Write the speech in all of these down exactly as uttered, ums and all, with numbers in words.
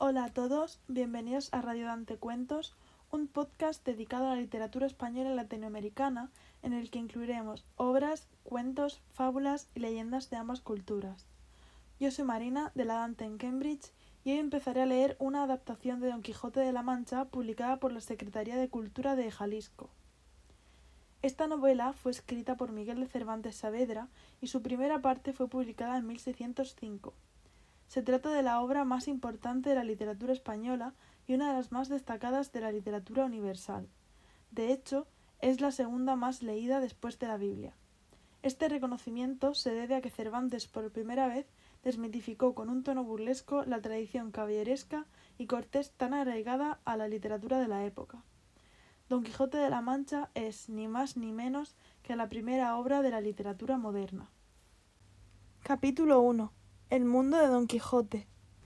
Hola a todos, bienvenidos a Radio Dante Cuentos, un podcast dedicado a la literatura española y latinoamericana en el que incluiremos obras, cuentos, fábulas y leyendas de ambas culturas. Yo soy Marina, de la Dante en Cambridge, y hoy empezaré a leer una adaptación de Don Quijote de la Mancha publicada por la Secretaría de Cultura de Jalisco. Esta novela fue escrita por Miguel de Cervantes Saavedra y su primera parte fue publicada en mil seiscientos cinco. Se trata de la obra más importante de la literatura española y una de las más destacadas de la literatura universal. De hecho, es la segunda más leída después de la Biblia. Este reconocimiento se debe a que Cervantes por primera vez desmitificó con un tono burlesco la tradición caballeresca y cortés tan arraigada a la literatura de la época. Don Quijote de la Mancha es ni más ni menos que la primera obra de la literatura moderna. Capítulo uno. El mundo de Don Quijote.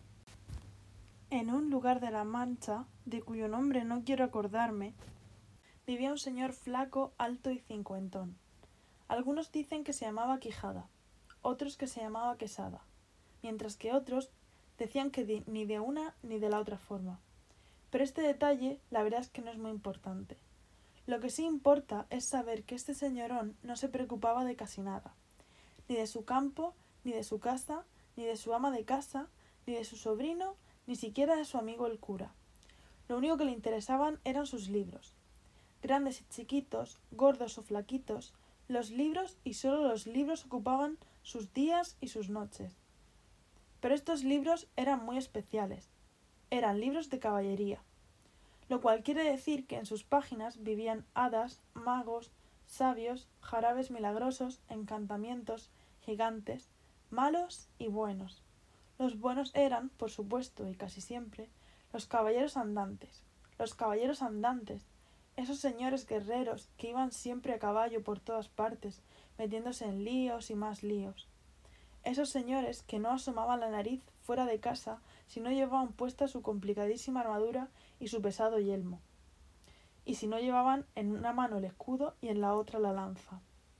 En un lugar de la Mancha, de cuyo nombre no quiero acordarme, vivía un señor flaco, alto y cincuentón. Algunos dicen que se llamaba Quijada, otros que se llamaba Quesada, mientras que otros decían que di- ni de una ni de la otra forma. Pero este detalle, la verdad es que no es muy importante. Lo que sí importa es saber que este señorón no se preocupaba de casi nada, ni de su campo, ni de su casa, ni de su ama de casa, ni de su sobrino, ni siquiera de su amigo el cura. Lo único que le interesaban eran sus libros. Grandes y chiquitos, gordos o flaquitos, los libros y solo los libros ocupaban sus días y sus noches. Pero estos libros eran muy especiales. Eran libros de caballería, lo cual quiere decir que en sus páginas vivían hadas, magos, sabios, jarabes milagrosos, encantamientos, gigantes, malos y buenos. Los buenos eran, por supuesto, y casi siempre, los caballeros andantes. Los caballeros andantes, esos señores guerreros que iban siempre a caballo por todas partes, metiéndose en líos y más líos. Esos señores que no asomaban la nariz fuera de casa si no llevaban puesta su complicadísima armadura y su pesado yelmo, y si no llevaban en una mano el escudo y en la otra la lanza.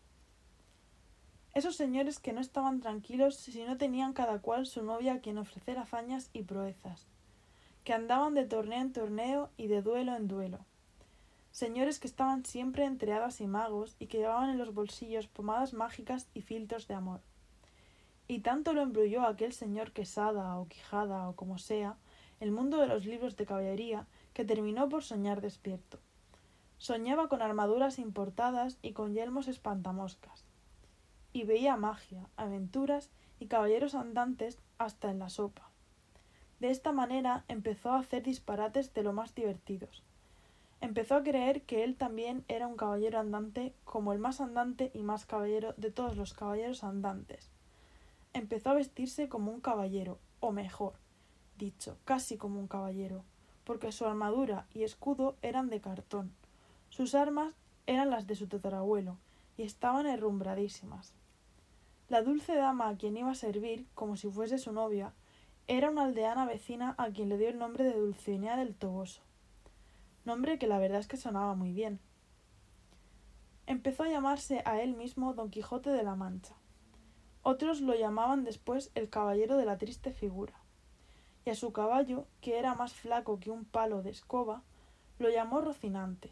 Esos señores que no estaban tranquilos si no tenían cada cual su novia a quien ofrecer hazañas y proezas, que andaban de torneo en torneo y de duelo en duelo. Señores que estaban siempre entre hadas y magos y que llevaban en los bolsillos pomadas mágicas y filtros de amor. Y tanto lo embrulló aquel señor Quesada o Quijada o como sea, el mundo de los libros de caballería, que terminó por soñar despierto. Soñaba con armaduras importadas y con yelmos espantamoscas. Y veía magia, aventuras y caballeros andantes hasta en la sopa. De esta manera empezó a hacer disparates de lo más divertidos. Empezó a creer que él también era un caballero andante como el más andante y más caballero de todos los caballeros andantes. Empezó a vestirse como un caballero, o mejor dicho, casi como un caballero, porque su armadura y escudo eran de cartón. Sus armas eran las de su tatarabuelo, y estaban herrumbradísimas. La dulce dama a quien iba a servir, como si fuese su novia, era una aldeana vecina a quien le dio el nombre de Dulcinea del Toboso, nombre que la verdad es que sonaba muy bien. Empezó a llamarse a él mismo Don Quijote de la Mancha. Otros lo llamaban después el Caballero de la Triste Figura, y a su caballo, que era más flaco que un palo de escoba, lo llamó Rocinante.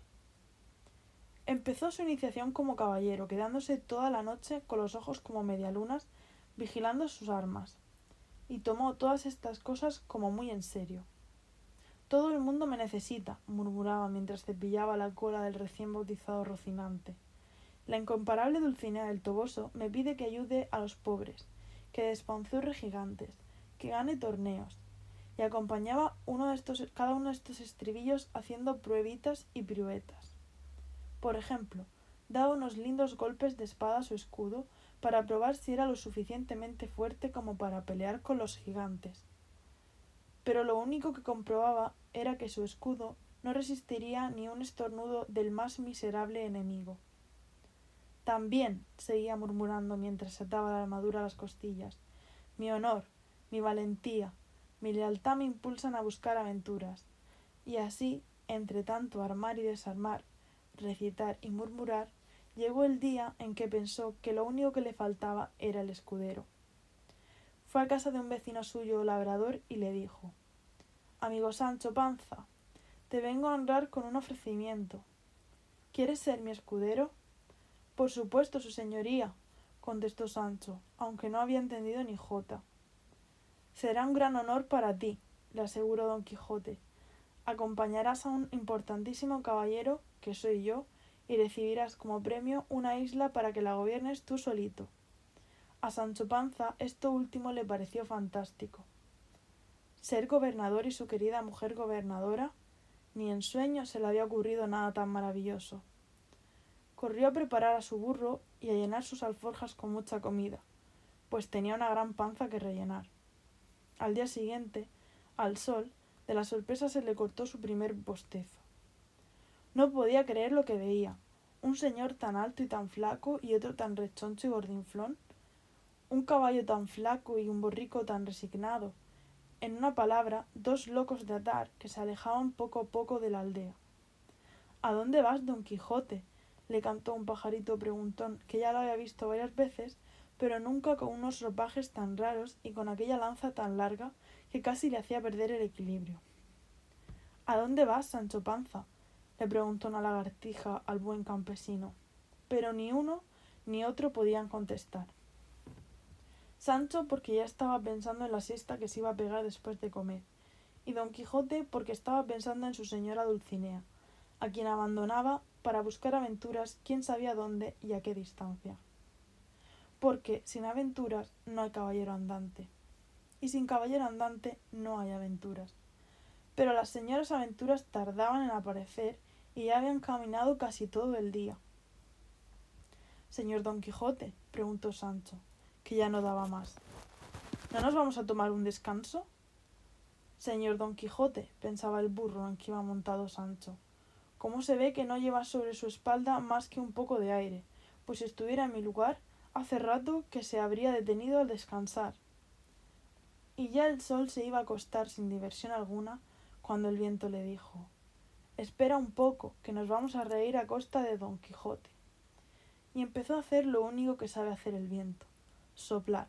Empezó su iniciación como caballero, quedándose toda la noche con los ojos como medialunas, vigilando sus armas, y tomó todas estas cosas como muy en serio. Todo el mundo me necesita, murmuraba mientras cepillaba la cola del recién bautizado Rocinante. La incomparable Dulcinea del Toboso me pide que ayude a los pobres, que despanzurre gigantes, que gane torneos, y acompañaba uno de estos, cada uno de estos estribillos haciendo pruebitas y piruetas. Por ejemplo, daba unos lindos golpes de espada a su escudo para probar si era lo suficientemente fuerte como para pelear con los gigantes. Pero lo único que comprobaba era que su escudo no resistiría ni un estornudo del más miserable enemigo. También, seguía murmurando mientras se ataba la armadura a las costillas, mi honor, mi valentía, mi lealtad me impulsan a buscar aventuras. Y así, entre tanto armar y desarmar, recitar y murmurar, llegó el día en que pensó que lo único que le faltaba era el escudero. Fue a casa de un vecino suyo labrador y le dijo: amigo Sancho Panza, te vengo a honrar con un ofrecimiento. ¿Quieres ser mi escudero? Por supuesto, su señoría, contestó Sancho, aunque no había entendido ni jota. Será un gran honor para ti, le aseguró don Quijote. Acompañarás a un importantísimo caballero, que soy yo, y recibirás como premio una isla para que la gobiernes tú solito. A Sancho Panza esto último le pareció fantástico. Ser gobernador y su querida mujer gobernadora, ni en sueños se le había ocurrido nada tan maravilloso. Corrió a preparar a su burro y a llenar sus alforjas con mucha comida, pues tenía una gran panza que rellenar. Al día siguiente, al sol, de la sorpresa se le cortó su primer bostezo. No podía creer lo que veía. Un señor tan alto y tan flaco y otro tan rechoncho y gordinflón. Un caballo tan flaco y un borrico tan resignado. En una palabra, dos locos de atar que se alejaban poco a poco de la aldea. ¿A dónde vas, don Quijote?, le cantó un pajarito preguntón que ya lo había visto varias veces, pero nunca con unos ropajes tan raros y con aquella lanza tan larga que casi le hacía perder el equilibrio. ¿A dónde vas, Sancho Panza?, le preguntó una lagartija al buen campesino, pero ni uno ni otro podían contestar. Sancho porque ya estaba pensando en la siesta que se iba a pegar después de comer, y don Quijote porque estaba pensando en su señora Dulcinea, a quien abandonaba para buscar aventuras quién sabía dónde y a qué distancia. Porque sin aventuras no hay caballero andante, y sin caballero andante no hay aventuras. Pero las señoras aventuras tardaban en aparecer y ya habían caminado casi todo el día. Señor Don Quijote, preguntó Sancho, que ya no daba más, ¿no nos vamos a tomar un descanso? Señor Don Quijote, pensaba el burro en que iba montado Sancho, ¿cómo se ve que no lleva sobre su espalda más que un poco de aire? Pues si estuviera en mi lugar, hace rato que se habría detenido al descansar. Y ya el sol se iba a acostar sin diversión alguna, cuando el viento le dijo: espera un poco, que nos vamos a reír a costa de Don Quijote. Y empezó a hacer lo único que sabe hacer el viento: soplar.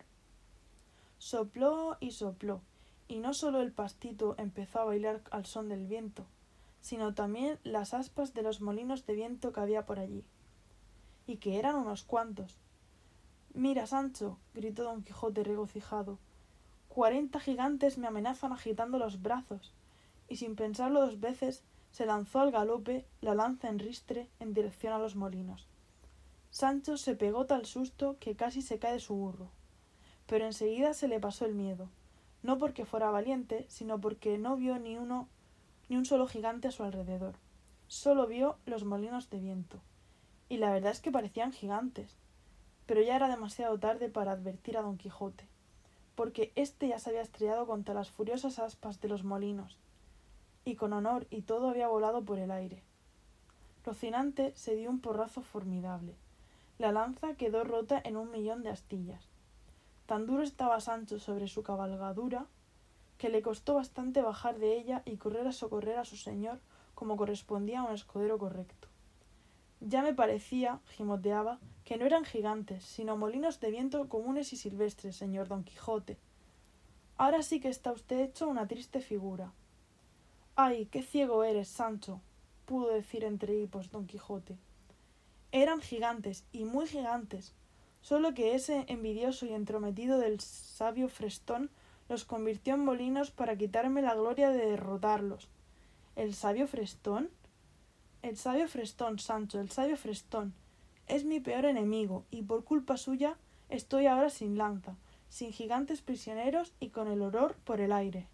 Sopló y sopló, y no solo el pastito empezó a bailar al son del viento, sino también las aspas de los molinos de viento que había por allí, y que eran unos cuantos. Mira, Sancho, gritó Don Quijote regocijado, cuarenta gigantes me amenazan agitando los brazos, y sin pensarlo dos veces se lanzó al galope, la lanza en ristre, en dirección a los molinos. Sancho se pegó tal susto que casi se cae de su burro, pero enseguida se le pasó el miedo, no porque fuera valiente, sino porque no vio ni uno ni un solo gigante a su alrededor. Solo vio los molinos de viento, y la verdad es que parecían gigantes, pero ya era demasiado tarde para advertir a Don Quijote, porque éste ya se había estrellado contra las furiosas aspas de los molinos, y con honor y todo había volado por el aire. Rocinante se dio un porrazo formidable. La lanza quedó rota en un millón de astillas. Tan duro estaba Sancho sobre su cabalgadura que le costó bastante bajar de ella y correr a socorrer a su señor como correspondía a un escudero correcto. Ya me parecía, gimoteaba, que no eran gigantes, sino molinos de viento comunes y silvestres, señor Don Quijote. Ahora sí que está usted hecho una triste figura. ¡Ay, qué ciego eres, Sancho!, pudo decir entre hipos Don Quijote. Eran gigantes, y muy gigantes, solo que ese envidioso y entrometido del sabio Frestón los convirtió en molinos para quitarme la gloria de derrotarlos. ¿El sabio Frestón? El sabio Frestón, Sancho, el sabio Frestón. Es mi peor enemigo, y por culpa suya estoy ahora sin lanza, sin gigantes prisioneros y con el horror por el aire.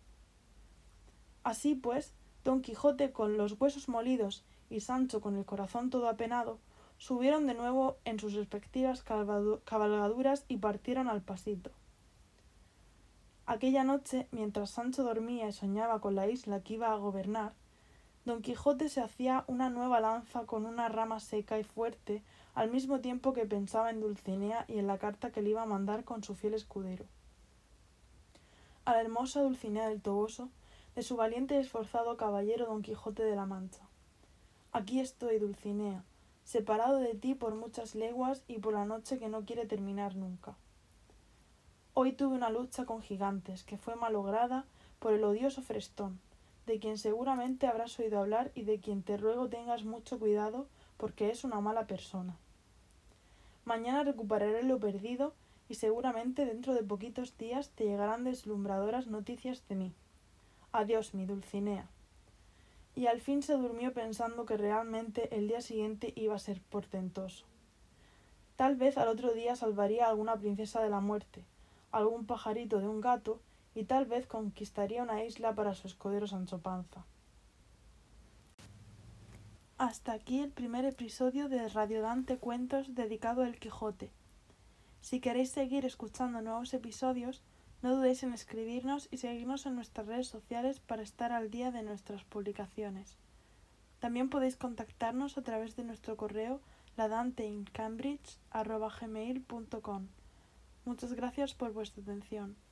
Así pues, Don Quijote con los huesos molidos y Sancho con el corazón todo apenado, subieron de nuevo en sus respectivas cabalgaduras y partieron al pasito. Aquella noche, mientras Sancho dormía y soñaba con la isla que iba a gobernar, Don Quijote se hacía una nueva lanza con una rama seca y fuerte, al mismo tiempo que pensaba en Dulcinea y en la carta que le iba a mandar con su fiel escudero. A la hermosa Dulcinea del Toboso, de su valiente y esforzado caballero Don Quijote de la Mancha. Aquí estoy, Dulcinea, separado de ti por muchas leguas y por la noche que no quiere terminar nunca. Hoy tuve una lucha con gigantes, que fue malograda por el odioso Frestón, de quien seguramente habrás oído hablar y de quien te ruego tengas mucho cuidado porque es una mala persona. Mañana recuperaré lo perdido y seguramente dentro de poquitos días te llegarán deslumbradoras noticias de mí. Adiós, mi Dulcinea. Y al fin se durmió pensando que realmente el día siguiente iba a ser portentoso. Tal vez al otro día salvaría a alguna princesa de la muerte, algún pajarito de un gato, y tal vez conquistaría una isla para su escudero Sancho Panza. Hasta aquí el primer episodio de Radio Dante Cuentos dedicado al Quijote. Si queréis seguir escuchando nuevos episodios, no dudéis en escribirnos y seguirnos en nuestras redes sociales para estar al día de nuestras publicaciones. También podéis contactarnos a través de nuestro correo ladanteincambridge arroba gmail punto com. Muchas gracias por vuestra atención.